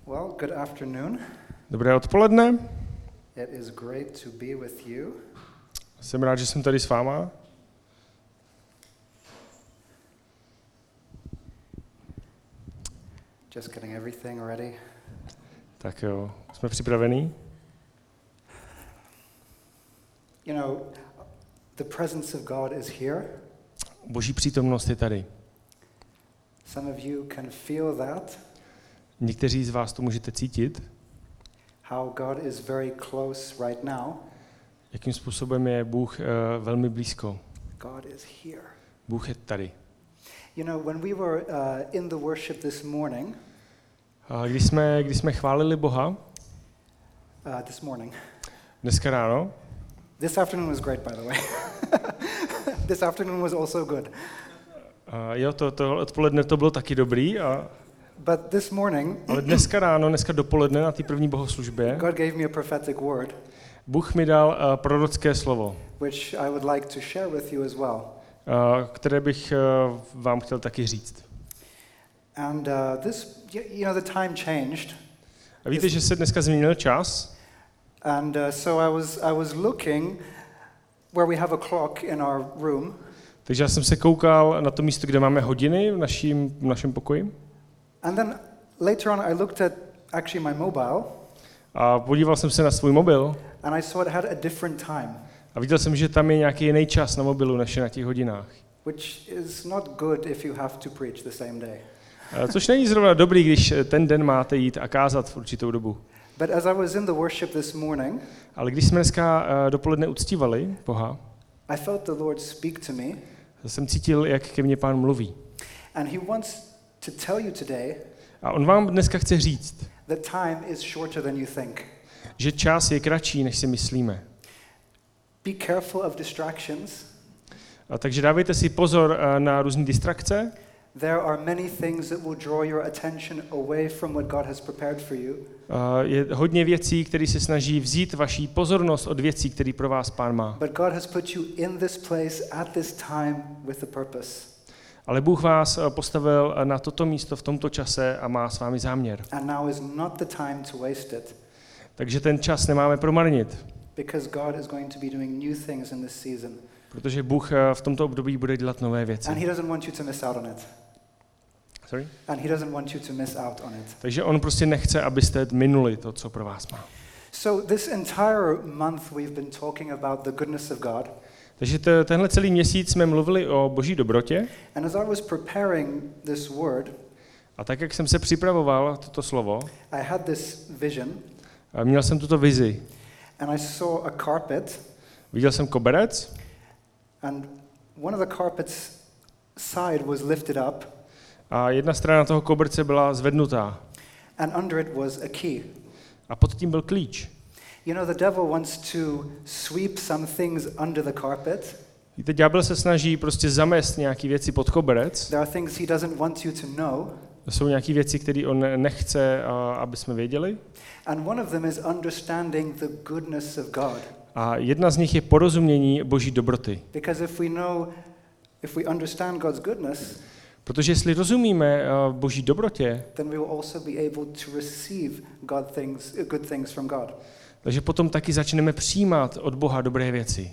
Well, good afternoon. Dobré odpoledne. It is great to be with you. Jsem rád, že jsem tady s váma. Just getting everything ready. Tak jo, jsme připravení. You know, the presence of God is here. Boží přítomnost je tady. Some of you can feel that. Někteří z vás to můžete cítit. How God is very close right now. Jakým způsobem je Bůh velmi blízko. God is here. Bůh je tady. You know, when we were in the worship this morning. Když jsme chválili Boha. This morning. Dneska ráno. This afternoon was great, by the way. This afternoon was also good. Jo, to odpoledne to bylo taky dobrý. But this morning, ale dneska dopoledne na té první bohoslužbě, God gave me a prophetic word. Bůh mi dal prorocké slovo, Which I would like to share with you as well. Které bych vám chtěl taky říct. And this, you know, the time changed. A víte, že se dneska změnil čas? And so I was looking where we have a clock in our room. Takže já jsem se koukal na to místo, kde máme hodiny v našem pokoji. And then later on I looked at actually my mobile. A podíval jsem se na svůj mobil. And I saw it had a different time. A viděl jsem, že tam je nějaký jiný čas na mobilu, než je na těch hodinách. Which is not good if you have to preach the same day. Což není zrovna dobrý, když ten den máte jít a kázat v určitou dobu. But as I was in the worship this morning, ale když jsme dneska dopoledne uctívali Boha, I felt the Lord speak to me. Jsem cítil, jak ke mně Pán mluví. And he wants to tell you today. A on vám dneska chce říct, that time is shorter than you think. Že čas je kratší, než si myslíme. Be careful of distractions. Takže dávejte si pozor na různé distrakce. There are many things that will draw your attention away from what God has prepared for you. Je hodně věcí, které se snaží vzít vaši pozornost od věcí, které pro vás Pán má. But God has put you in this place at this time with a purpose. Ale Bůh vás postavil na toto místo v tomto čase a má s vámi záměr. And now is not the time to waste it. Takže ten čas nemáme promarnit. Because God is going to be doing new things in this season. Protože Bůh v tomto období bude dělat nové věci. And he doesn't want you to miss out on it. Sorry? And he doesn't want you to miss out on it. Takže on prostě nechce, abyste minuli to, co pro vás má. So this entire month we've been talking about the goodness of God. Takže tenhle celý měsíc jsme mluvili o Boží dobrotě. And as I was preparing this word, a tak, jak jsem se připravoval toto slovo, I had this vision. Měl jsem tuto vizi. And I saw a carpet. Viděl jsem koberec. And one of the carpet's side was lifted up. A jedna strana toho koberce byla zvednutá. And under it was a key. A pod tím byl klíč. You know, the devil wants to sweep some things under the carpet. Víte, ďábel se snaží prostě zamést nějaký věci pod koberec. There are things he doesn't want you to know. To jsou nějaké věci, které on nechce, aby jsme věděli. And one of them is understanding the goodness of God. A jedna z nich je porozumění Boží dobroty. Because if we understand God's goodness, protože jestli rozumíme Boží dobrotě, then we will also be able to receive good things from God. Takže potom taky začneme přijímat od Boha dobré věci.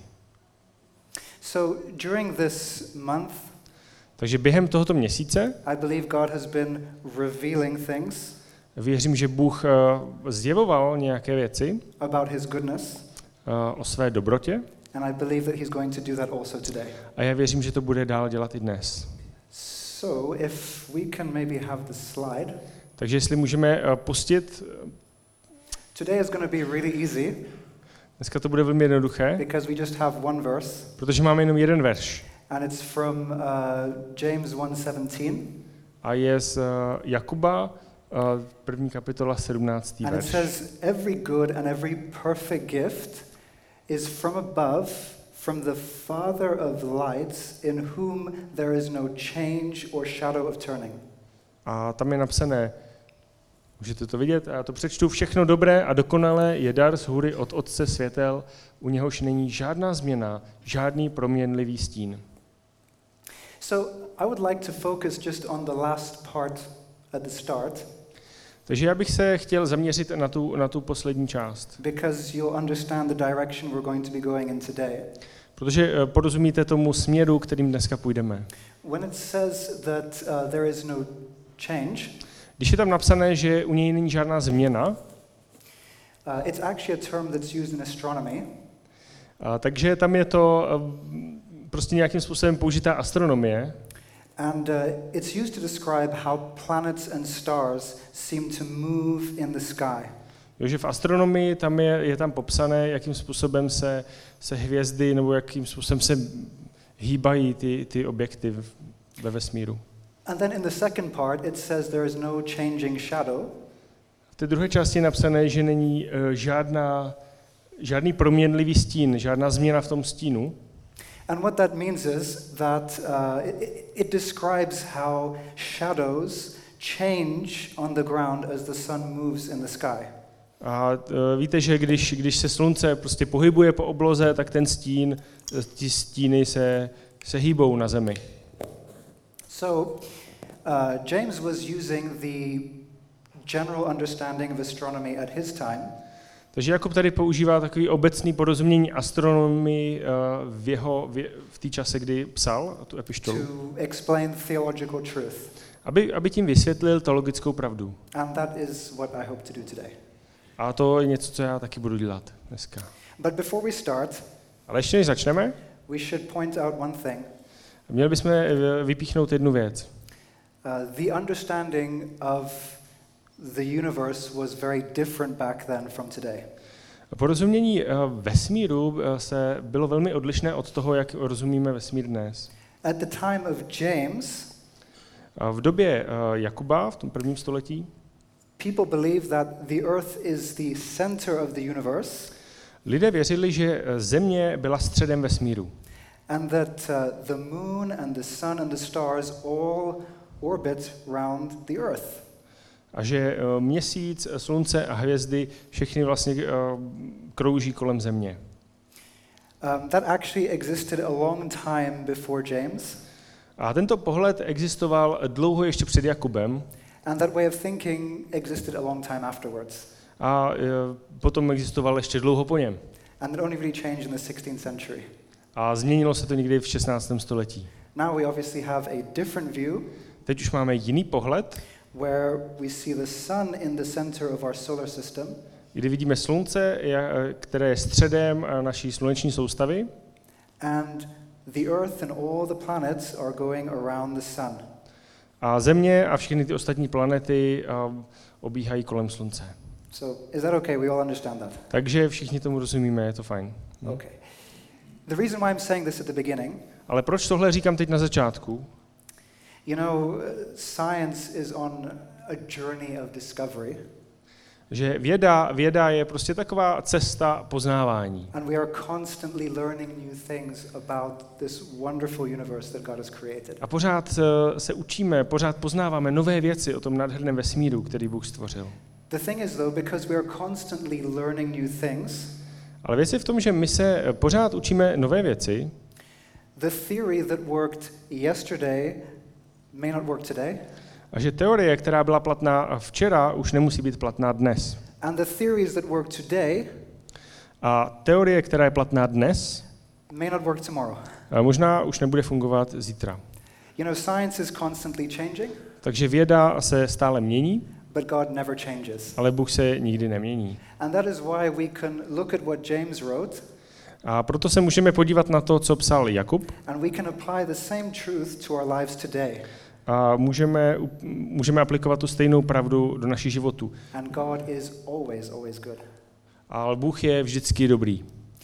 So during this month, takže během tohoto měsíce, I believe God has been revealing things. Věřím, že Bůh zjevoval nějaké věci about his goodness. O své dobrotě. And I believe that he's going to do that also today. A já věřím, že to bude dál dělat i dnes. So if we can maybe have the slide. Takže jestli můžeme pustit. Today is going to be really easy. Dneska to bude velmi jednoduché. Because we just have one verse. Protože máme jenom jeden verš. And it's from James 1:17. A je z Jakuba, první kapitola 17. verš. And it says, every good and every perfect gift is from above, from the Father of lights, in whom there is no change or shadow of turning. A tam je napsané, můžete to vidět, a já to přečtu, všechno dobré a dokonalé je dar z hůry od Otce světel, u něhož není žádná změna, žádný proměnlivý stín. So I would like to focus just on the last part at the start. Takže já bych se chtěl zaměřit na tu poslední část. because you'll understand the direction we're going to be going in today. Protože porozumíte tomu směru, kterým dneska půjdeme. When it says that there is no change, Když je tam napsané, že u něj není žádná změna, it's actually a term that's used in astronomy. Takže tam je to prostě nějakým způsobem použitá astronomie. And it's used to describe how planets and stars seem to move in the sky. Jo, že v astronomii tam je tam popsané, jakým způsobem se hvězdy nebo jakým způsobem se hýbají ty objekty ve vesmíru. And then in the second part it says there is no changing shadow. V té druhé části je napsané, že není žádný proměnlivý stín, žádná změna v tom stínu. And what that means is that it describes how shadows change on the ground as the sun moves in the sky. A víte, že když se slunce prostě pohybuje po obloze, tak ty stíny se hýbou na zemi. So James was using the general understanding of astronomy at his time. Takže Jakub tady používá takový obecný porozumění astronomii v té čase, kdy psal tu epištolu. To explain theological truth. Aby tím vysvětlil teologickou pravdu. And that is what I hope to do today. A to je něco, co já taky budu dělat dneska. But before we start, Ale ještě než začneme, we should point out one thing. měli bychom vypíchnout jednu věc. The understanding of the universe was very different back then from today. Porozumění vesmíru bylo velmi odlišné od toho, jak rozumíme vesmír dnes. At the time of James, v době Jakuba, v tom prvním století, people believed that the earth is the center of the universe. Lidé věřili, že Země byla středem vesmíru. And that the moon and the sun and the stars all orbit round the earth. A že měsíc, slunce a hvězdy všechny vlastně krouží kolem Země. That actually existed a long time before James. A tento pohled existoval dlouho ještě před Jakubem. And that way of thinking existed a long time afterwards. A potom existoval ještě dlouho po něm. And it only really changed in the 16th century. A změnilo se to někdy v 16. století. Now we obviously have a different view. Teď už máme jiný pohled, where we see the sun in the center of our solar system. Kdy vidíme slunce, které je středem naší sluneční soustavy. And the earth and all the planets are going around the sun. A Země a všechny ty ostatní planety obíhají kolem slunce. So is that okay? We all understand that. Takže všichni tomu rozumíme, je to fajn. Okay. The reason why I'm saying this at the beginning, ale proč tohle říkám teď na začátku? You know, science is on a journey of discovery. Že věda je prostě taková cesta poznávání. And we are constantly learning new things about this wonderful universe that God has created. A pořád se učíme, pořád poznáváme nové věci o tom nádherném vesmíru, který Bůh stvořil. The thing is though, because we are constantly learning new things, ale věc je v tom, že my se pořád učíme nové věci. The theory that worked yesterday may not work today. A že teorie, která byla platná včera, už nemusí být platná dnes. And the theories that work today a teorie, která je platná dnes, may not work tomorrow. Možná už nebude fungovat zítra. You know, science is constantly changing. Takže věda se stále mění, but God never changes. ale Bůh se nikdy nemění. And that is why we can look at what James wrote. A proto se můžeme podívat na to, co psal Jakub. And we can apply the same truth to our lives today. A můžeme aplikovat tu stejnou pravdu do našich životů. And God is always good. Ale Bůh je vždycky dobrý.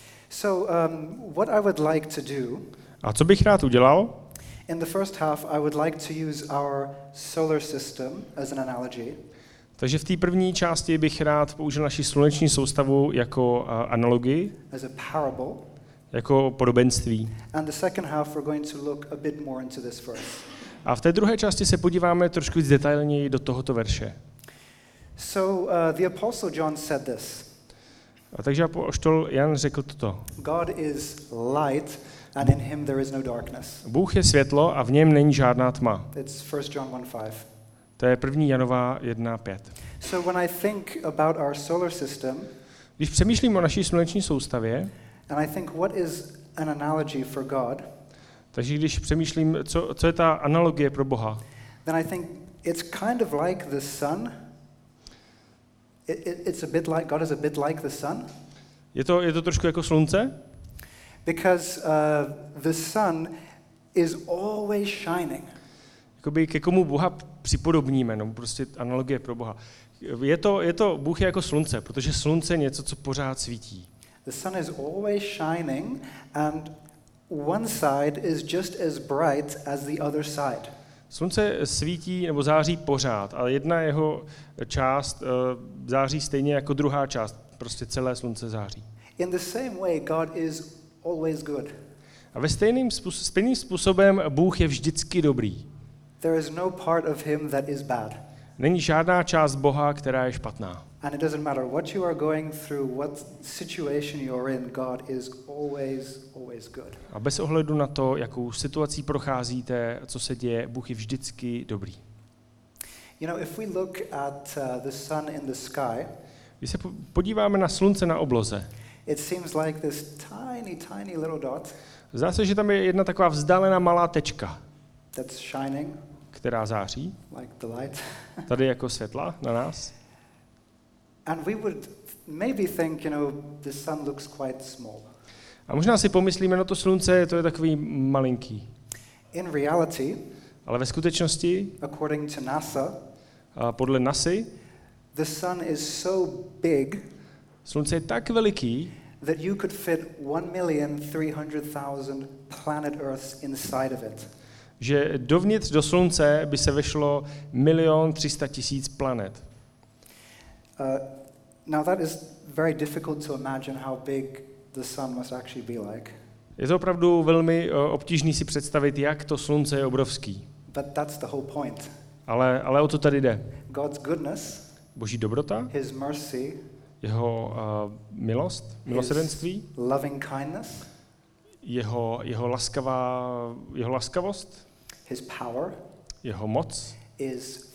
So what I would like to do, a co bych rád udělal? In the first half I would like to use our solar system as an analogy. Takže v té první části bych rád použil naši sluneční soustavu jako analogii, as a parable. Jako podobenství. And the second half we're going to look a bit more into this verse. A v té druhé části se podíváme trošku víc detailněji do tohoto verše. So the apostle John said this. A takže apoštol Jan řekl toto. God is light and in him there is no darkness. Bůh je světlo a v něm není žádná tma. It's 1 John 1:5. To je 1. Janova 1:5. So when I think about our solar system, Když přemýšlím o naší sluneční soustavě, and I think what is an analogy for God, takže když přemýšlím, co je ta analogie pro Boha, then I think it's kind of like the sun. It's a bit like God is a bit like the sun, je to trošku jako slunce, because the sun is always shining. jakoby ke komu Boha připodobníme, no prostě analogie pro Boha. Bůh je jako slunce, protože slunce je něco, co pořád svítí. The sun is always shining, and one side is just as bright as the other side. Slunce svítí nebo září pořád, ale jedna jeho část září stejně jako druhá část. Prostě celé slunce září. In the same way, God is always good. A ve stejným způsobem Bůh je vždycky dobrý. There is no part of him that is bad. Není žádná část Boha, která je špatná. And it doesn't matter what you are going through, what situation you're in, God is always good. A bez ohledu na to, jakou situací procházíte, co se děje, Bůh je vždycky dobrý. You know, if we look at the sun in the sky, Když se podíváme na slunce na obloze, it seems like this tiny little dot zdá se, že tam je jedna taková vzdálená malá tečka, that's shining která září, like the light. tady jako světla na nás. And we would maybe think, you know, the sun looks quite small. A možná si pomyslíme, no to slunce, to je takový malinký. In reality, Ale ve skutečnosti, according to NASA, podle NASY, the sun is so big slunce je tak veliký, that you could fit 1,300,000 planet Earths inside of it. že dovnitř do slunce by se vešlo 1 300 000 planet. Now that is very difficult to imagine how big the sun must actually be like. Je to opravdu velmi obtížný si představit, jak to slunce je obrovský. But that's the whole point. Ale o to tady jde. God's goodness, Boží dobrota, his mercy, jeho milost, milosrdenství, his loving kindness, jeho laskavost, his power jeho moc is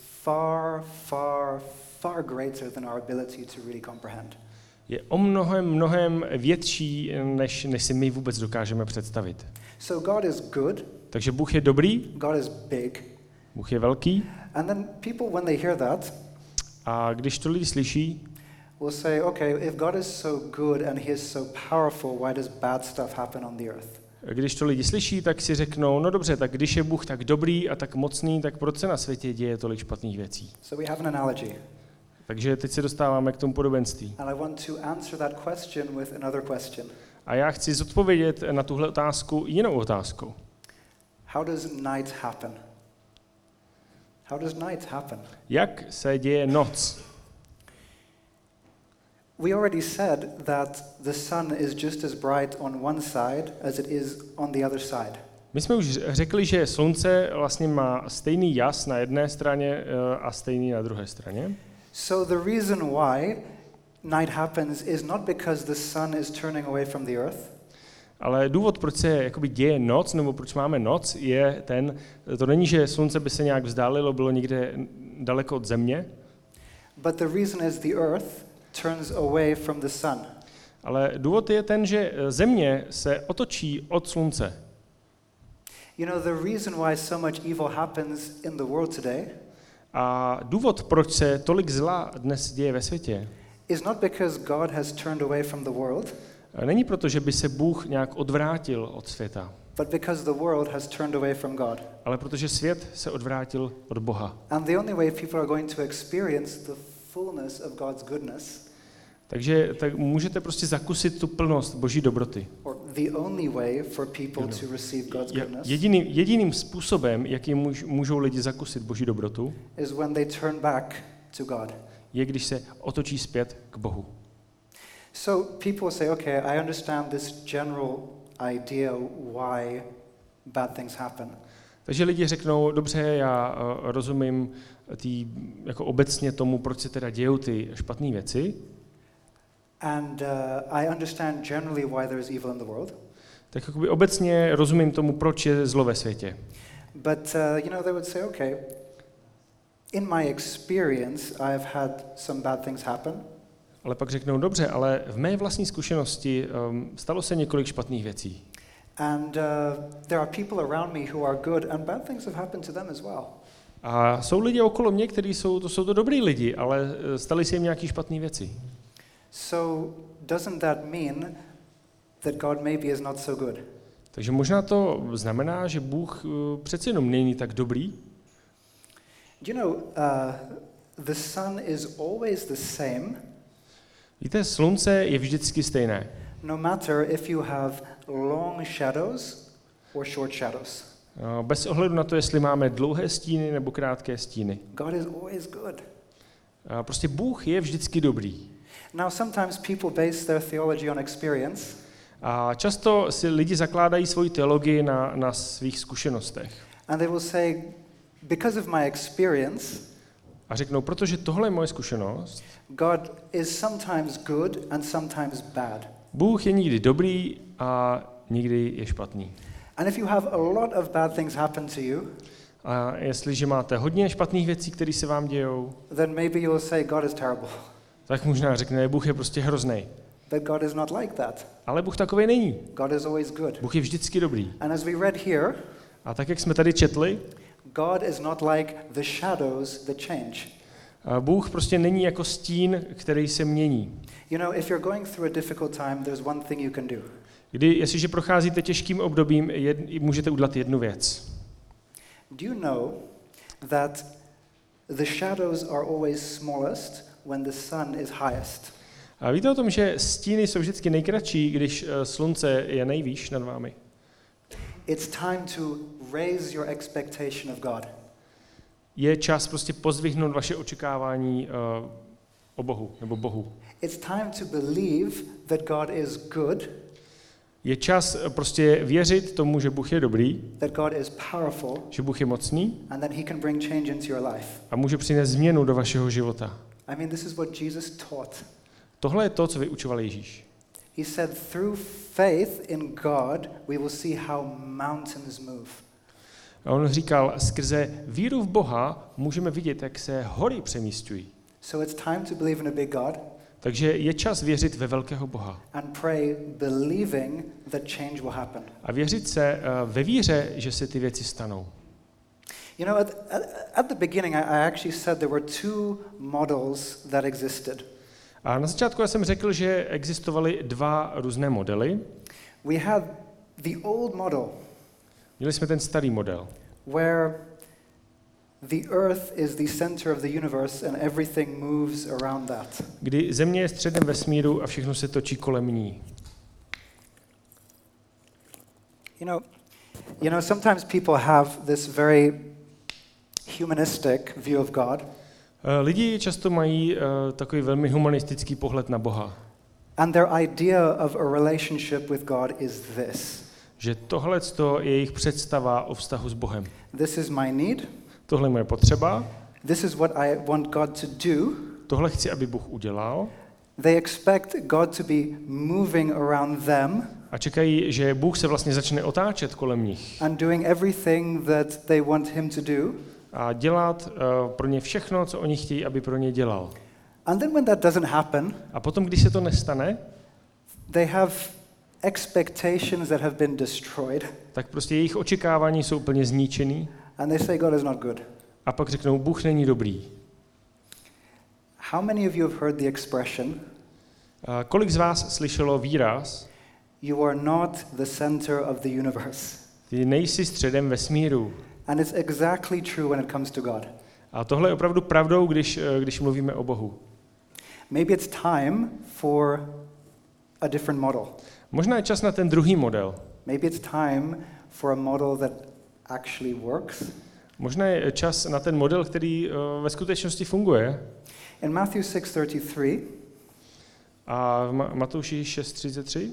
far greater than our ability to really comprehend. je o mnohem větší, než si my vůbec dokážeme představit. So God is good, Takže Bůh je dobrý, God is big, Bůh je velký, and then people, when they hear that, a když to lidi slyší, will say, okay, if God is so good and he is so powerful, why does bad stuff happen on the earth? když to lidi slyší, tak si řeknou, no dobře, tak když je Bůh tak dobrý a tak mocný, tak proč se na světě děje tolik špatných věcí? So we have an analogy. Takže teď se dostáváme k tomu podobenství. And I want to answer that question with another question. A já chci zodpovědět na tuhle otázku jinou otázkou. How does night happen? How does night happen? Jak se děje noc? We already said that the sun is just as bright on one side as it is on the other side. My jsme už řekli, že slunce vlastně má stejný jas na jedné straně a stejný na druhé straně. So the reason why night happens is not because the sun is turning away from the earth. Ale důvod, proč se jakoby děje noc, nebo proč máme noc, je to není, že slunce by se nějak vzdálilo, bylo někde daleko od země, But the reason is the earth turns away from the sun. ale důvod je ten, že země se otočí od slunce. You know, the reason why so much evil happens in the world today A důvod, proč se tolik zla dnes děje ve světě, is not because God has turned away from the world, není proto, že by se Bůh nějak odvrátil od světa, but because the world has turned away from God. ale protože svět se odvrátil od Boha. And the only way people are going to experience the fullness of God's goodness, Takže tak můžete prostě zakusit tu plnost Boží dobroty. or the only way for people to receive God's goodness, Jediným způsobem, jakým můžou lidi zakusit Boží dobrotu, is when they turn back to God. je, když se otočí zpět k Bohu. So people say, okay, I understand this general idea why bad things happen. Takže lidi řeknou, dobře, já rozumím jako obecně tomu, proč se teda dějou ty špatné věci. And I understand generally why there is evil in the world. Tak jakoby obecně rozumím tomu, proč je zlo ve světě. But, you know, they would say, okay, In my experience, I have had some bad things happen. Ale pak řeknou, dobře, ale v mé vlastní zkušenosti stalo se několik špatných věcí. And there are people around me who are good, and bad things have happened to them as well. A jsou lidi okolo mě, kteří jsou to dobrý lidi, ale staly se jim nějaké špatné věci. So doesn't that mean that God maybe is not so good? Takže možná to znamená, že Bůh přeci jenom není tak dobrý. You know, the sun is always the same. Víte, slunce je vždycky stejné. No matter if you have long shadows or short shadows. Bez ohledu na to, jestli máme dlouhé stíny nebo krátké stíny. God is always good. Prostě Bůh je vždycky dobrý. Now sometimes people base their theology on experience. A často si lidi zakládají svoji teologii na svých zkušenostech. And they will say, because of my experience, A řeknou, protože tohle je moje zkušenost, God is sometimes good and sometimes bad. Bůh je někdy dobrý a někdy je špatný. And if you have a lot of bad things happen to you, A jestliže máte hodně špatných věcí, které se vám dějou, then maybe you'll say God is terrible. tak možná řekne, Bůh je prostě hrozný. But God is not like that. Ale Bůh takový není. God is always good. Bůh je vždycky dobrý. And as we read here, A tak, jak jsme tady četli, God is not like the shadows that change. Bůh prostě není jako stín, který se mění. You know, if you're going through a difficult time, there's one thing you can do. Jestliže procházíte těžkým obdobím, můžete udělat jednu věc. Do you know that the shadows are always smallest when the sun is highest? A víte o tom, že stíny jsou vždycky nejkratší, když slunce je nejvýš nad vámi? It's time to raise your expectation of God. Je čas prostě pozdvihnout vaše očekávání o Bohu, nebo Bohu. It's time to believe that God is good, Je čas prostě věřit tomu, že Bůh je dobrý, that God is powerful, že Bůh je mocný and that he can bring change into your life. a může přinést změnu do vašeho života. I mean, this is what Jesus taught. Tohle je to, co vyučoval Ježíš. He said, through faith in God, we will see how mountains move. A on říkal, skrze víru v Boha můžeme vidět, jak se hory přemísťují. So it's time to believe in a big God Takže je čas věřit ve velkého Boha. and pray believing that change will happen. A věřit se ve víře, že se ty věci stanou. You know, at the beginning, I actually said there were two models that existed. A na začátku já jsem řekl, že existovaly dva různé modely. We had the old model Měli jsme ten starý model, where the earth is the center of the universe and everything moves around that. kdy Země je středem vesmíru a všechno se točí kolem ní. You know, sometimes people have this very humanistic view of God. Lidi často mají takový velmi humanistický pohled na Boha. And their idea of a relationship with God is this. Že tohle je jejich představa o vztahu s Bohem. This is my need. Tohle je moje potřeba, This is what I want God to do. tohle chci, aby Bůh udělal. They expect God to be moving around them A čekají, že Bůh se vlastně začne otáčet kolem nich and doing everything that they want him to do. a dělat pro ně všechno, co oni chtějí, aby pro ně dělal. And then when that doesn't happen, A potom, když se to nestane, they have expectations that have been destroyed, tak prostě jejich očekávání jsou úplně zničený and they say God is not good. a pak řeknou, Bůh není dobrý. How many of you have heard the expression, Kolik z vás slyšelo výraz, you are not the center of the universe? ty nejsi středem vesmíru. And it's exactly true when it comes to God. A tohle je opravdu pravdou, když mluvíme o Bohu. Maybe it's time for a different model. Možná je čas na ten druhý model. Maybe it's time for a model that actually works. Možná je čas na ten model, který ve skutečnosti funguje. In Matthew 6:33, A v Matouši 6:33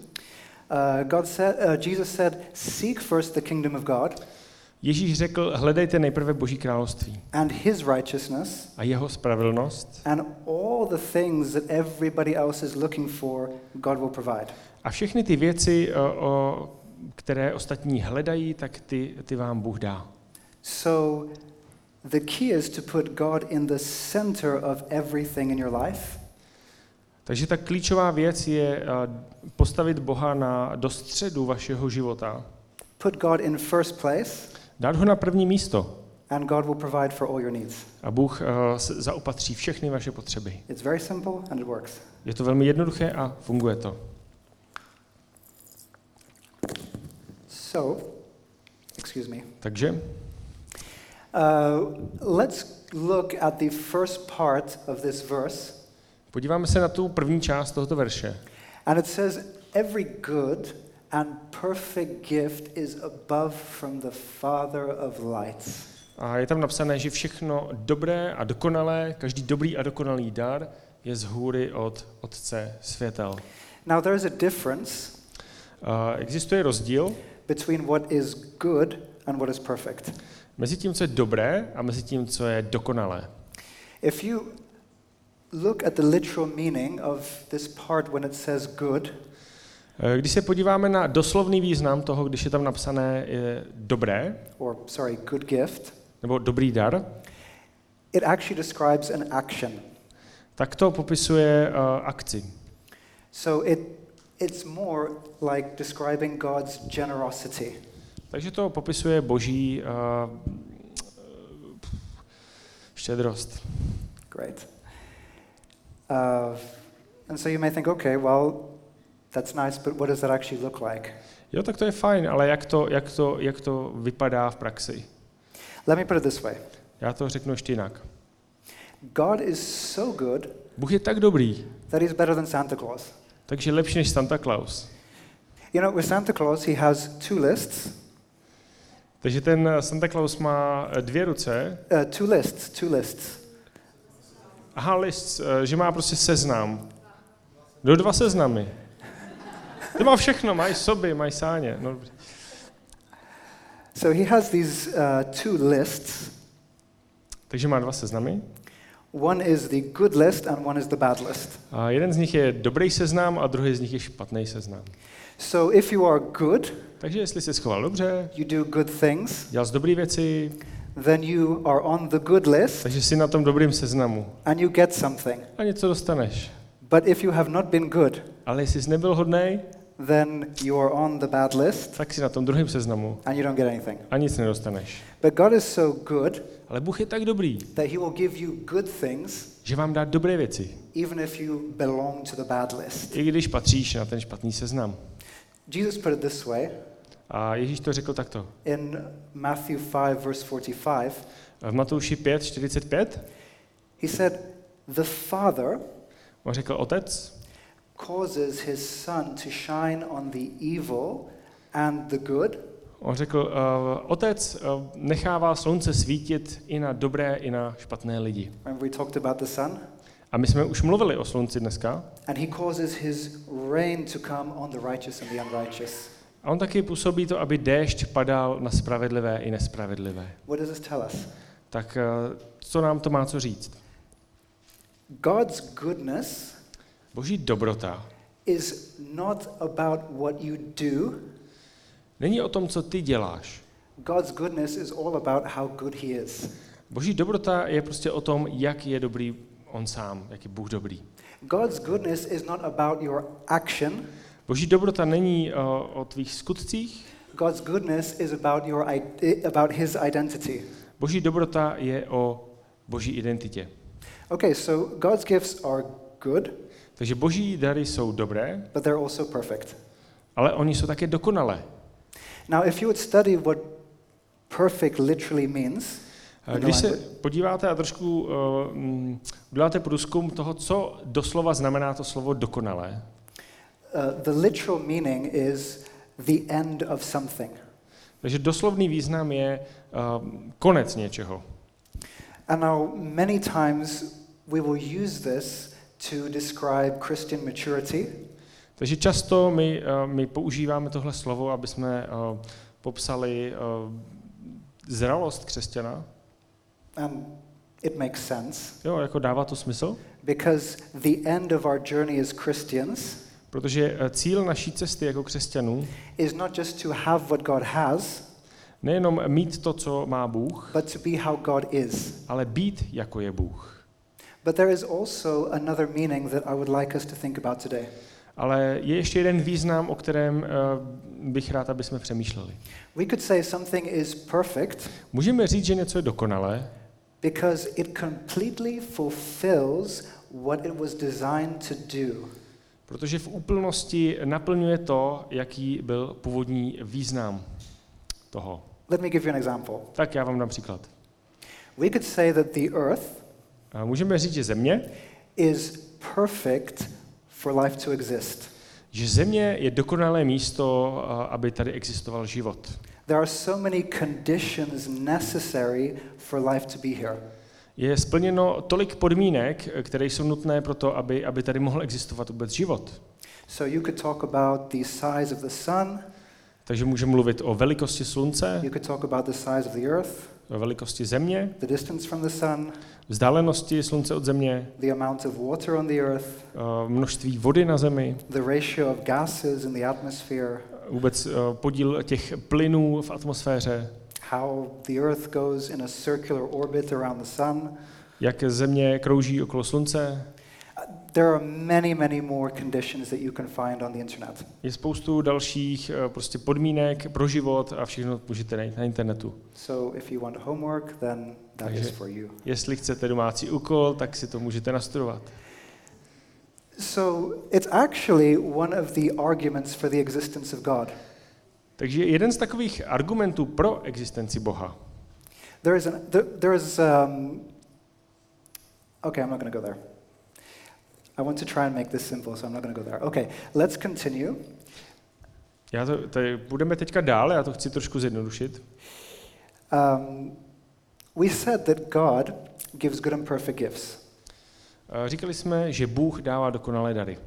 Jesus said, "Seek first the kingdom of God Ježíš řekl, hledejte nejprve Boží království and his righteousness, a jeho spravedlnost and all the things that everybody else is looking for, God will provide." a všechny ty věci, které ostatní hledají, tak ty vám Bůh dá. So The key is to put God in the center of everything in your life. Takže ta klíčová věc je postavit Boha do středu vašeho života. Put God in first place, Dát ho na první místo. and God will provide for all your needs. A Bůh zaopatří všechny vaše potřeby. It's very simple and it works. Je to velmi jednoduché a funguje to. So, excuse me. Takže Let's look at the first part of this verse. podíváme se na tu první část tohoto verše. And it says, every good and perfect gift is above from the Father of lights. A je tam napsané, že všechno dobré a dokonalé, každý dobrý a dokonalý dar je z hůry od Otce světel. Now there is a difference Existuje rozdíl between what is good and what is perfect. mezi tím, co je dobré, a mezi tím, co je dokonalé. If you look at the literal meaning of this part when it says good, Když se podíváme na doslovný význam toho, když je tam napsané dobré, good gift, nebo dobrý dar, it actually describes an action. tak to popisuje akci. So it's more like describing God's generosity. Takže to popisuje boží štědrost. Great. And so you may think, okay, well, that's nice, but what does that actually look like? Jo, tak to je fajn, ale jak to vypadá v praxi? Let me put it this way. Já to řeknu ještě jinak. God is so good Bůh je tak dobrý, that he's better than Santa Claus. takže lepší než Santa Claus. You know, with Santa Claus, he has two lists. Takže ten Santa Claus má dvě ruce. Two lists. Aha, list, že má prostě seznam. Dva seznamy. To má všechno, mají soby, mají sáně. No, dobře. So he has these two lists. Takže má dva seznamy. One is the good list and one is the bad list. A jeden z nich je dobrý seznam a druhý z nich je špatný seznam. So if you are good, Takže jestli jsi schoval dobře, you do good things, dělal jsi dobré věci, then you are on the good list takže jsi na tom dobrým seznamu and you get something. a něco dostaneš. But if you have not been good, Ale jestli jsi nebyl hodnej, then you are on the bad list tak jsi na tom druhém seznamu and you don't get anything. a nic nedostaneš. But God is so good Ale Bůh je tak dobrý, that he will give you good things že vám dá dobré věci, even if you belong to the bad list. i když patříš na ten špatný seznam. Jesus put it this way A Ježíš to řekl takto. in Matthew 5 verse 45. V Matouši 5:45 He said, "The Father on řekl, Otec causes his sun to shine on the evil and the good, On řekl, Otec nechává slunce svítit i na dobré, i na špatné lidi. remember we talked about the sun, A my jsme už mluvili o slunci dneska. and he causes his rain to come on the righteous and the unrighteous." A on taky působí to, aby déšť padal na spravedlivé i nespravedlivé. What does this tell us? Tak co nám to má co říct? God's goodness Boží dobrota is not about what you do. není o tom, co ty děláš. God's goodness is all about how good he is. Boží dobrota je prostě o tom, jak je dobrý on sám, jak je Bůh dobrý. God's goodness is not about your action. Boží dobrota není o tvých skutcích. God's goodness is about his identity. Boží dobrota je o boží identitě. Okay, so God's gifts are good, Takže boží dary jsou dobré, but they're also perfect. ale oni jsou také dokonalé. Now, if you would study what perfect literally means, Když se podíváte a trošku uděláte průzkum toho, co doslova znamená to slovo dokonalé, the literal meaning is the end of something. takže doslovný význam je konec něčeho. And now, many times we will use this to describe Christian maturity. Takže často my používáme tohle slovo, aby jsme popsali zralost křesťana. And it makes sense, Jo, jako dává to smysl, because the end of our journey as Christians protože cíl naší cesty jako křesťanů is not just to have what God has, Nejenom mít to, co má Bůh, but to be how God is. ale být, jako je Bůh. But there is also another meaning that I would like us to think about today. Ale je ještě jeden význam, o kterém bych rád, aby jsme přemýšleli. We could say something is perfect Můžeme říct, že něco je dokonalé, because it completely fulfills what it was designed to do. protože v úplnosti naplňuje to, jaký byl původní význam toho. Let me give you an example. Tak já vám dám příklad. We could say that the earth A můžeme říct, že země, is perfect for life to exist. že země je dokonalé místo, aby tady existoval život. There are so many conditions necessary for life to be here. Je splněno tolik podmínek, které jsou nutné pro to, aby tady mohl existovat vůbec život. So you could talk about the size of the sun, Takže můžeme mluvit o velikosti slunce, you could talk about the size of the earth, o velikosti země, the distance from the sun, vzdálenosti slunce od země, the amount of water on the earth, množství vody na zemi, the ratio of gases in the atmosphere, vůbec podíl těch plynů v atmosféře, how the earth goes in a circular orbit around the sun. jak země krouží okolo slunce. There are many, many more conditions that you can find on the internet. Je spoustu dalších prostě podmínek pro život a všechno můžete najít na internetu. So if you want homework, then that Takže is for you. jestli chcete domácí úkol, tak si to můžete nastudovat. So it's actually one of the arguments for the existence of God. Takže jeden z takových argumentů pro existenci Boha. There is okay, I'm not going to go there. I want to try and make this simple, so I'm not going to go there. Okay, let's continue. Budeme teďka dál, já to chci trošku zjednodušit. We said that God gives good and perfect gifts. Říkali jsme, že Bůh dává dokonalé dary.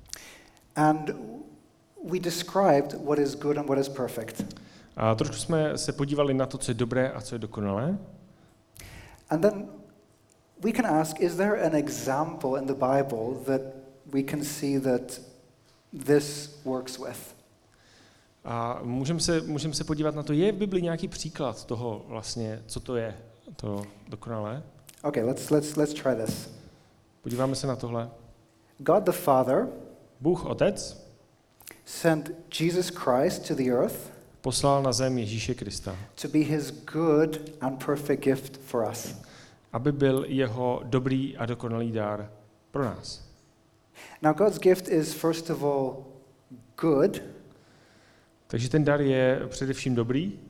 And we described what is good and what is perfect. A trošku jsme se podívali na to, co je dobré a co je dokonalé. And then we can ask, is there an example in the Bible that we can see that this works with? A můžeme se podívat na to, je v Bibli nějaký příklad toho vlastně, co to je, to dokonalé? Okay, let's try this. Podíváme se na tohle. God the Father Bůh Otec sent Jesus Christ to the earth poslal na zem Ježíše Krista, to be his good and perfect gift for us. aby byl jeho dobrý a dokonalý dár pro nás. Now God's gift is first of all good. Takže ten dar je především dobrý,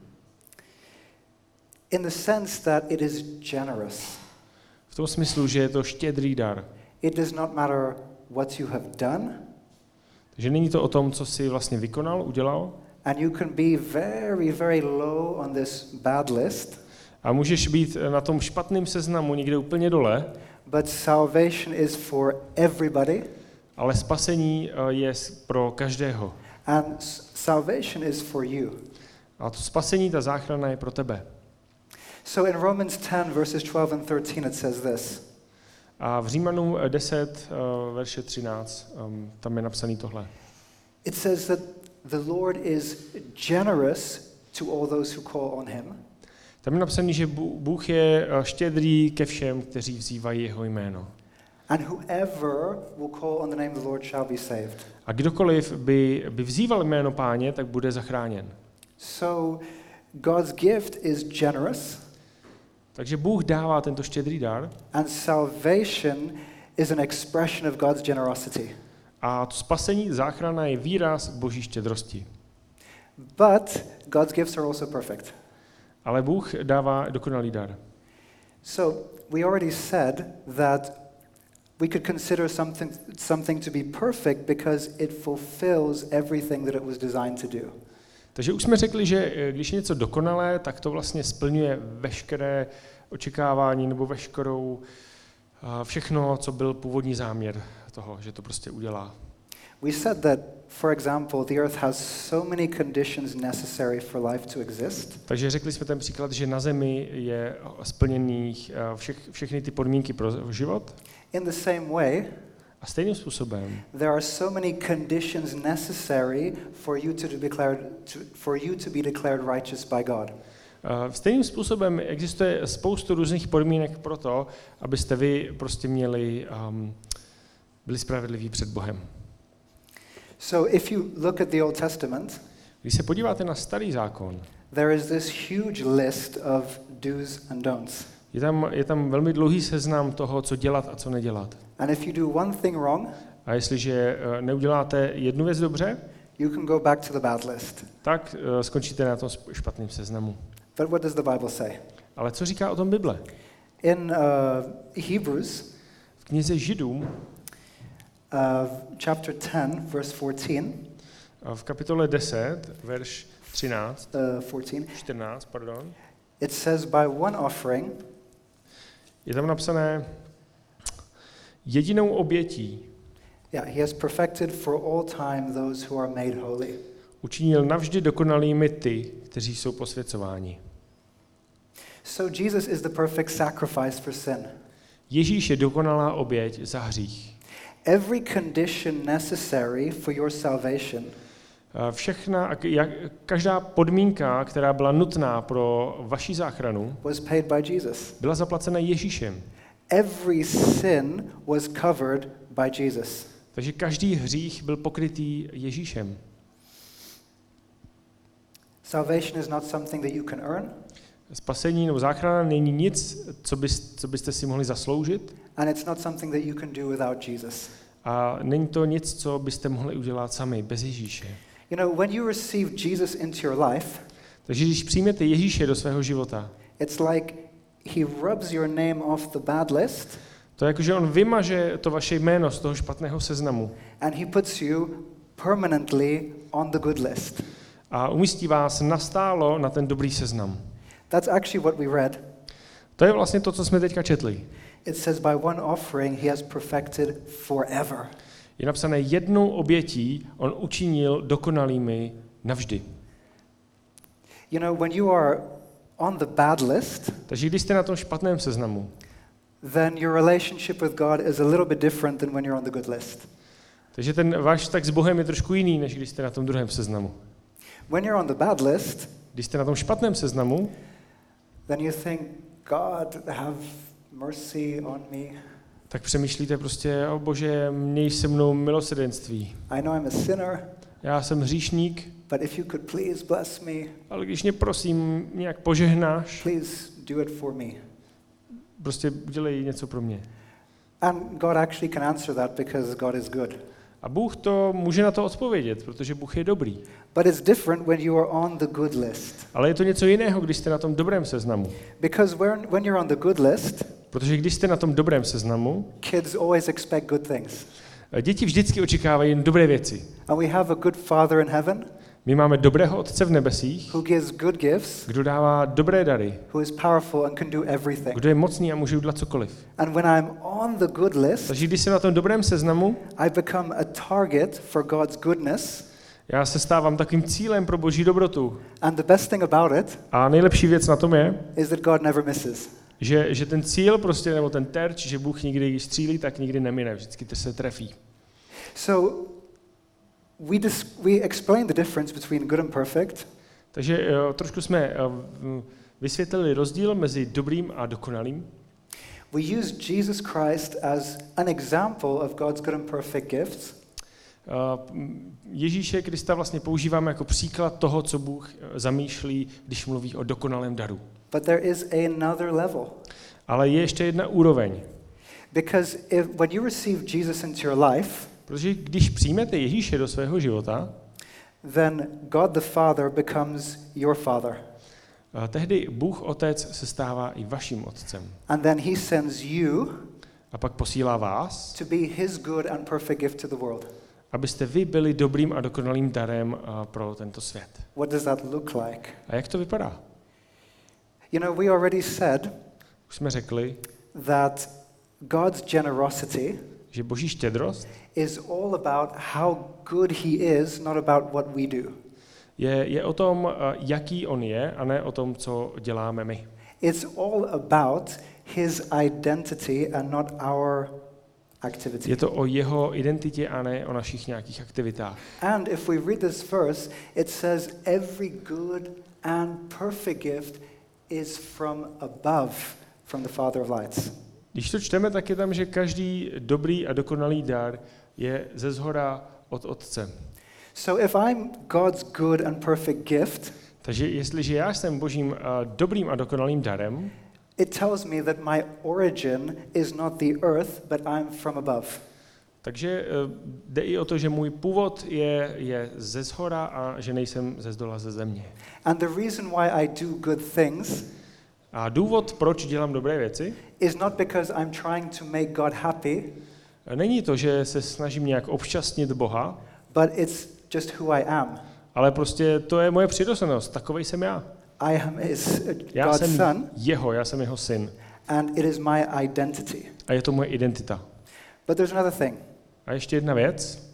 In the sense that it is generous. v tom smyslu, že je to štědrý dar. It does not matter what you have done, Takže není to o tom, co jsi vlastně vykonal, udělal, and you can be very, very low on this bad list, a můžeš být na tom špatném seznamu někde úplně dole, but salvation is for everybody, ale spasení je pro každého. and salvation is for you. A to spasení, ta záchrana je pro tebe. So in Romans 10, verses 12 and 13, it says this. A v Římanům 10, verše 13, tam je napsaný tohle. It says that the Lord is generous to all those who call on him. Tam je napsaný, že Bůh je štědrý ke všem, kteří vzývají jeho jméno. And whoever will call on the name of the Lord shall be saved. A kdokoliv by vzýval jméno Páně, tak bude zachráněn. So God's gift is generous, Takže Bůh dává tento štědrý dar and salvation is an expression of God's generosity. a to spasení, záchrana je výraz boží štědrosti. But God's gifts are also perfect. Ale Bůh dává dokonalý dar. So we already said that we could consider something to be perfect because it fulfills everything that it was designed to do. Takže už jsme řekli, že když je něco dokonalé, tak to vlastně splňuje veškeré očekávání nebo všechno, co byl původní záměr toho, že to prostě udělá. We said that, for example, the earth has so many conditions necessary for life to exist. Takže řekli jsme ten příklad, že na Zemi je splněných všechny ty podmínky pro život. In the same way, A stejným způsobem there are so many conditions necessary for you to be declared righteous by God. Stejným způsobem existuje spoustu různých podmínek pro to, abyste vy prostě byli spravedliví před Bohem. So if you look at the Old Testament, Když se podíváte na Starý zákon, there is this huge list of do's and don'ts. je tam velmi dlouhý seznam toho, co dělat a co nedělat. And if you do one thing wrong, A jestliže neuděláte jednu věc dobře, you can go back to the bad list. tak skončíte na tom špatném seznamu. But what does the Bible say? Ale co říká o tom Bible? In Hebrews, V knize Židům, chapter 10, verse 14, v kapitole 10, verš 13, 14, pardon, it says, by one offering, je tam napsané jedinou obětí he has perfected for all time those who are made holy. učinil navždy dokonalými ty, kteří jsou posvěcováni. So Jesus is the perfect sacrifice for sin. Ježíš je dokonalá oběť za hřích. Every condition necessary for your salvation Každá podmínka, která byla nutná pro vaši záchranu, was paid by Jesus. byla zaplacena Ježíšem. Every sin was covered by Jesus. Takže každý hřích byl pokrytý Ježíšem. Salvation is not something that you can earn. Spasení nebo záchrana není nic, co byste si mohli zasloužit. And it's not something that you can do without Jesus. A není to nic, co byste mohli udělat sami, bez Ježíše. You know, when you receive Jesus into your life, Takže když přijmete Ježíše do svého života, it's like he rubs your name off the bad list. to je jako, že on vymaže to vaše jméno z toho špatného seznamu. And he puts you permanently on the good list. A umístí vás nastálo na ten dobrý seznam. That's actually what we read. To je vlastně to, co jsme teďka četli. It says by one offering he has perfected forever. Je napsané jednou obětí on učinil dokonalými navždy. You know, when you are on the bad list, Takže když jste na tom špatném seznamu, then your relationship with God is a little bit different than when you're on the good list. takže ten váš vztah s Bohem je trošku jiný, než když jste na tom druhém seznamu. When you're on the bad list, Když jste na tom špatném seznamu, then you think, God, have mercy on me. tak přemýšlíte prostě, o Bože, měj se mnou milosrdenství. I know I'm a sinner, Já jsem hříšník, but if you could please bless me, ale když mě prosím nějak požehnáš, please do it for me. prostě udělej něco pro mě. And God actually can answer that because God is good. A Bůh to může na to odpovědět, protože Bůh je dobrý. But it's different when you are on the good list. Ale je to něco jiného, když jste na tom dobrém seznamu. Because when you're on the good list, Protože když jste na tom dobrém seznamu, kids always expect good things. děti vždycky očekávají jen dobré věci. And we have a good Father in heaven My máme dobrého Otce v nebesích, who gives good gifts, kdo dává dobré dary, who is powerful and can do everything. kdo je mocný a může udělat cokoliv. And when I'm on the good list, Takže když jsem na tom dobrém seznamu, I become a target for God's goodness. já se stávám takovým cílem pro Boží dobrotu. And the best thing about it A nejlepší věc na tom je, is that God never misses. že ten cíl prostě, nebo ten terč, že Bůh nikdy, když střílí, tak nikdy nemine, vždycky to se trefí. So we explain the difference between good and perfect. Takže trošku jsme vysvětlili rozdíl mezi dobrým a dokonalým. We use Jesus Christ as an example of God's good and perfect gifts. Ježíše Krista vlastně používáme jako příklad toho, co Bůh zamýšlí, když mluví o dokonalém daru. But there is another level. Ale je ještě jedna úroveň. Because when you receive Jesus into your life, Protože když přijmete Ježíše do svého života, then God the Father becomes your Father. tehdy Bůh Otec se stává i vaším otcem. And then he sends you A pak posílá vás, to be his good and perfect gift to the world. abyste vy byli dobrým a dokonalým darem pro tento svět. What does that look like? A jak to vypadá? You know, we already said Už jsme řekli, that God's generosity že Boží štědrost is all about how good he is, not about what we do. je o tom, jaký on je, a ne o tom, co děláme my. It's all about his identity and not our activity. Je to o jeho identitě a ne o našich nějakých aktivitách. And if we read this verse, it says every good and perfect gift is from above, from the Father of lights. Když to čteme, tak je tam, že každý dobrý a dokonalý dar je ze zhora od Otce. So if I'm God's good and perfect gift, Takže jestliže já jsem Božím dobrým a dokonalým darem, it tells me that my origin is not the earth, but I'm from above. takže jde i o to, že můj původ je ze zhora a že nejsem ze zdola ze země. And the reason why I do good things A důvod, proč dělám dobré věci, is not because I'm trying to make God happy, není to, že se snažím nějak obšťastnit Boha, but it's just who I am. ale prostě to je moje přirozenost, takovej jsem já. I am his Já God's jsem son, já jsem jeho syn. and it is my identity. A je to moje identita. But there's another thing. A ještě jedna věc.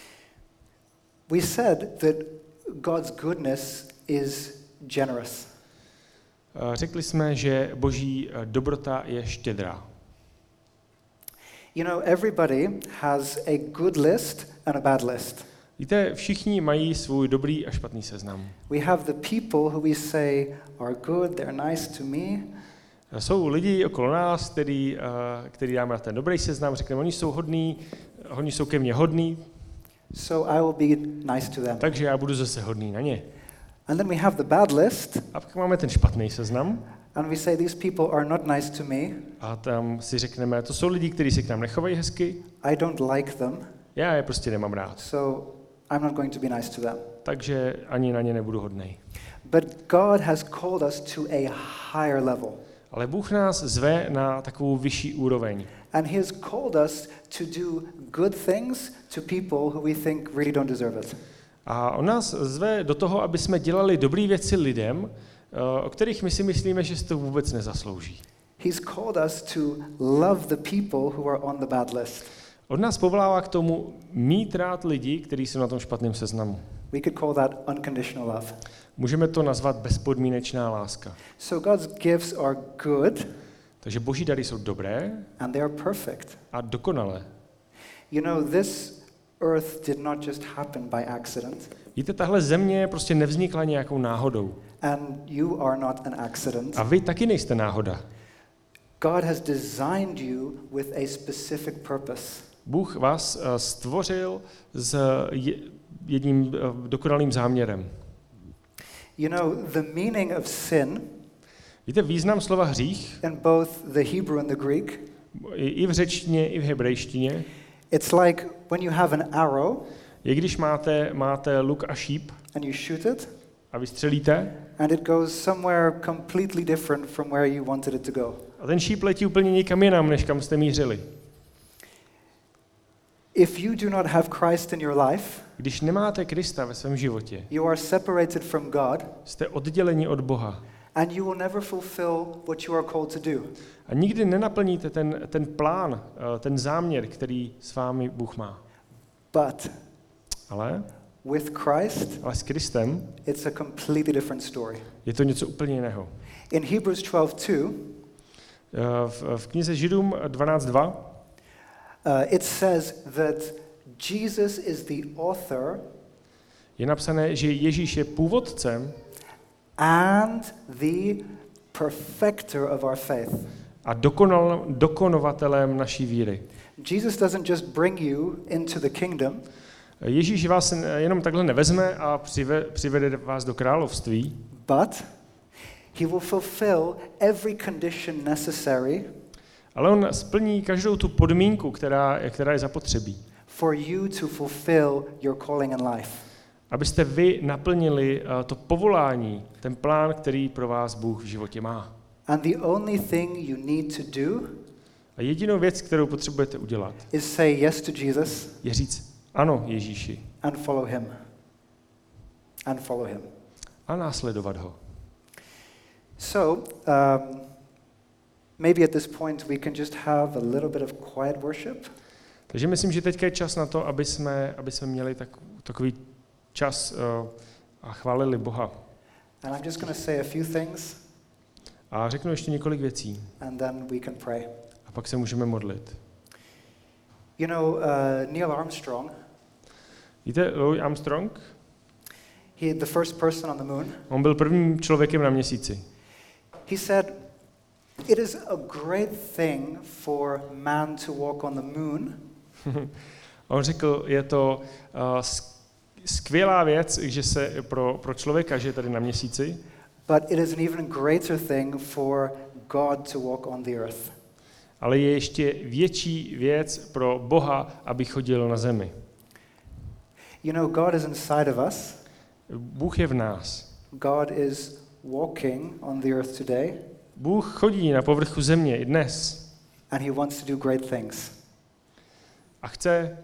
We said that God's goodness is generous. Řekli jsme, že Boží dobrota je štědrá. You know, everybody has a good list and a bad list. Víte, všichni mají svůj dobrý a špatný seznam. We have the people who we say are good, they're nice to me. Jsou lidi okolo nás, který dáme na ten dobrý seznam, řekneme, oni jsou hodní, oni jsou ke mně hodní, So I will be nice to them. takže já budu zase hodný na ně. And then we have the bad list, A pak máme ten špatný seznam and we say these people are not nice to me. a tam si řekneme, to jsou lidi, kteří se k nám nechovají hezky, I don't like them, já je prostě nemám rád, so I'm not going to be nice to them. takže ani na ně nebudu hodnej. But God has called us to a higher level. Ale Bůh nás zve na takovou vyšší úroveň. And he has called us to do good things to people who we think really don't deserve it. A on nás zve do toho, aby jsme dělali dobré věci lidem, o kterých my si myslíme, že si to vůbec nezaslouží. He's called us to love the people who are on the bad list. On nás povolává k tomu mít rád lidi, kteří jsou na tom špatném seznamu. We could call that unconditional love. Můžeme to nazvat bezpodmínečná láska. So God's gifts are good Takže Boží dary jsou dobré and they are perfect. a dokonalé. You know, this earth did not just happen by accident, Víte, tahle země prostě nevznikla nějakou náhodou. and you are not an accident. A vy taky nejste náhoda. God has designed you with a specific purpose. Bůh vás stvořil s jedním dokonalým záměrem. You know, the meaning of sin Víte, význam slova hřích, in both the Hebrew and the Greek, i v řečtině, i v hebrejštině, it's like when you have an arrow je, když máte luk a šíp and you shoot it, a vystřelíte and it goes somewhere completely different from where you wanted it to go. a ten šíp letí úplně někam jinam, než kam jste mířili. If you do not have Christ in your life, Když nemáte Krista ve svém životě, you are separated from God, jste odděleni od Boha and you will never fulfill what you are called to do. a nikdy nenaplníte ten plán, ten záměr, který s vámi Bůh má. But Ale with Christ, s Kristem it's a completely different story. je to něco úplně jiného. In Hebrews 12:2, V knize Židům 12.2 it says that Jesus is the author je napsané, že Ježíš je původcem and the perfecter of our faith. a dokonovatelem naší víry. Jesus doesn't just bring you into the kingdom, Ježíš vás jenom takhle nevezme a přivede vás do království, but he will fulfill every condition necessary ale on splní každou tu podmínku, která je zapotřebí, for you to fulfill your calling in life. abyste vy naplnili to povolání, ten plán, který pro vás Bůh v životě má. And the only thing you need to do A jedinou věc, kterou potřebujete udělat, is say yes to Jesus je říct ano Ježíši and follow him. And follow him. a následovat ho. So, maybe at this point we can just have a little bit of quiet worship. Takže myslím, že teďka je čas na to, aby jsme měli takový čas a chválili Boha. And I'm just going to say a few things, A řeknu ještě několik věcí and then we can pray. a pak se můžeme modlit. You know, Neil Armstrong, Víte, Louis Armstrong? he the first person on the moon. On byl prvním člověkem na měsíci. He said, "It is a great thing for man to walk on the moon." On řekl, je to skvělá věc, že se pro člověka, že je tady na měsíci, But it is an even greater thing for God to walk on the earth. ale je ještě větší věc pro Boha, aby chodil na zemi. You know, God is inside of us. Bůh je v nás. God is walking on the earth today, Bůh chodí na povrchu země i dnes and he wants to do great things. a chce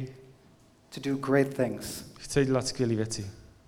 dělat skvělé věci.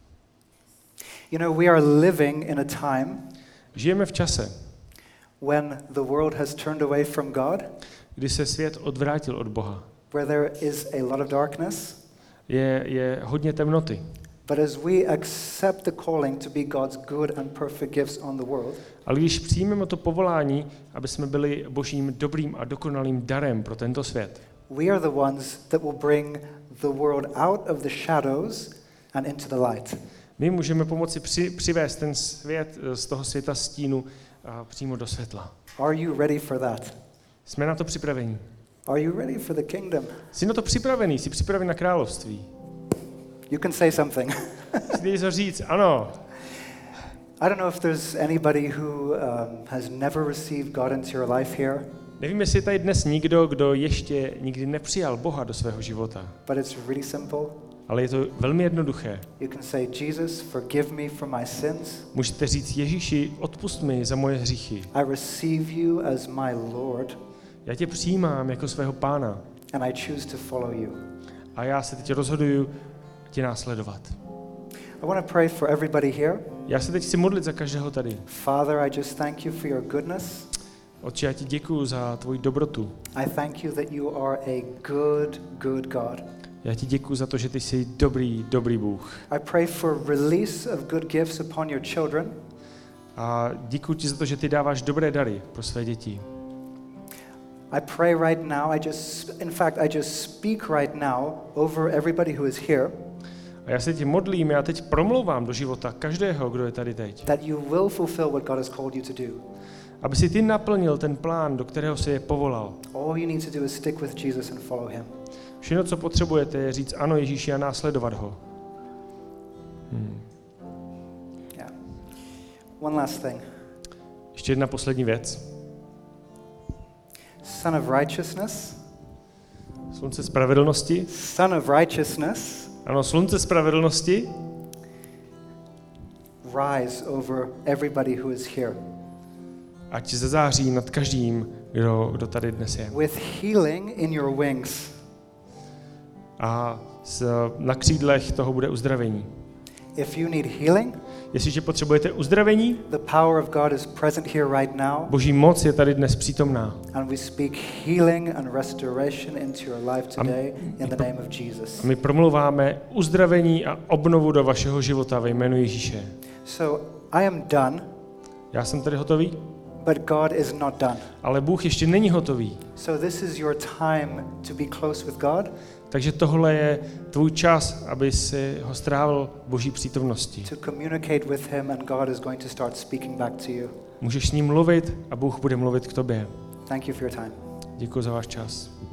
You know, we are living in a time Žijeme v čase, when the world has turned away from God, kdy se svět odvrátil od Boha. where there is a lot of darkness. Je hodně temnoty. But as we accept the calling to be God's good and perfect gifts on the world, Ale když přijmeme to povolání, aby jsme byli Božím dobrým a dokonalým darem pro tento svět, we are the ones that will bring the world out of the shadows and into the light. my můžeme pomoci přivést ten svět z toho světa stínu přímo do světla. Are you ready for that? Jsme na to připraveni. Are you ready for the kingdom? Jsi na to připravený, jsi připravený na království. You can say something. Chci něco říct, ano. I don't know if there's anybody who has never received God into your life here, Nevím, jestli je tady dnes nikdo, kdo ještě nikdy nepřijal Boha do svého života. but it's really simple. Ale je to velmi jednoduché. You can say, Jesus, forgive me for my sins. Můžete říct, Ježíši, odpusť mi za moje hříchy. I receive you as my Lord, Já tě přijímám jako svého pána and I choose to follow you. a já se teď rozhoduju tě následovat. I want to pray for everybody here. Já se teď chci modlit za každého tady. Father, I just thank you for your goodness. Otče, já ti děkuju za tvoji dobrotu. I thank you that you are a good, good God. Já ti děkuju za to, že ty jsi dobrý, dobrý Bůh. I pray for release of good gifts upon your children. A děkuju ti za to, že ty dáváš dobré dary pro své děti. I pray right now, I just speak right now over everybody who is here, A já se ti modlím, já teď promlouvám do života každého, kdo je tady teď. that you will fulfill what God has called you to do. Aby si ty naplnil ten plán, do kterého si je povolal. All you need to do is stick with Jesus and follow him. Všechno, co potřebujete, je říct ano Ježíši a následovat ho. Yeah. One last thing. Ještě jedna poslední věc. Son of righteousness. Slunce spravedlnosti. Son of righteousness. Ano, slunce spravedlnosti. Rise over everybody who is here. Ať zazáří nad každým, kdo tady dnes je. With healing in your wings. A na křídlech toho bude uzdravení. If you need healing, Jestliže potřebujete uzdravení, the power of God is present here right now. Boží moc je tady dnes přítomná. And we speak healing and restoration into your life today in the name of Jesus. A my promluváme uzdravení a obnovu do vašeho života ve jménu Ježíše. So I am done, Já jsem tady hotový, but God is not done. ale Bůh ještě není hotový. So this is your time to be close with God. Takže tohle je tvůj čas, aby si ho strávil v Boží přítomnosti. To communicate with him, and God is going to start speaking back to you. Můžeš s ním mluvit a Bůh bude mluvit k tobě. Thank you for your time. Děkuji za váš čas.